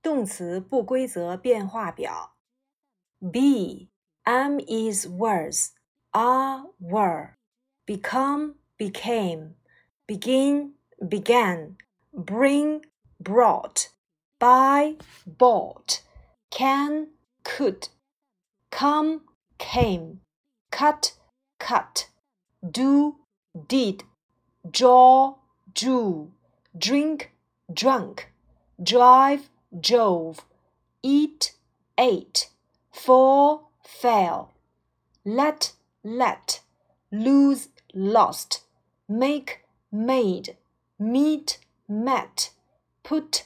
动词不规则变化表 Be, am is was, are were, become became, begin began, bring brought, buy bought, can could, come came, cut cut, do did, draw drew, drink drunk, drive drove, eat ate, fall fell, let lose lost, make made, meet met, put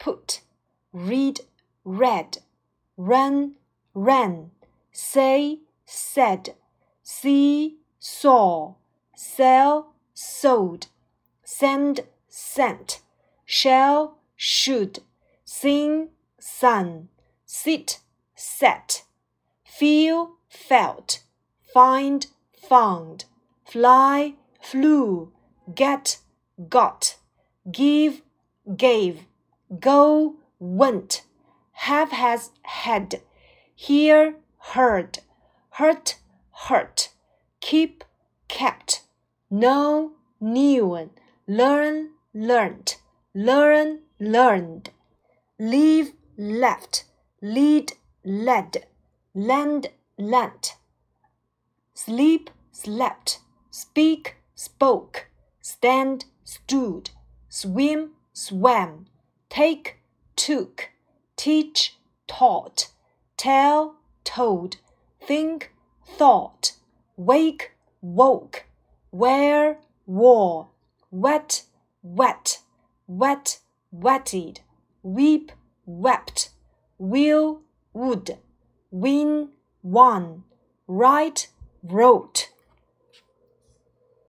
read read, run ran, say said, see saw, sell sold, send sent, shall should, sing sung, sit sat, feel felt, find found, fly flew, get got, give gave, go went, have has had, hear heard, hurt hurt, keep kept, know knew, learn learnt, learn learned, leave left, lead led, lend lent, sleep slept, speak spoke, stand stood, swim swam, take took, teach taught, tell told, think thought, wake woke, wear wore, wet wet, wet wetted, weep wept, will would, win won, write wrote,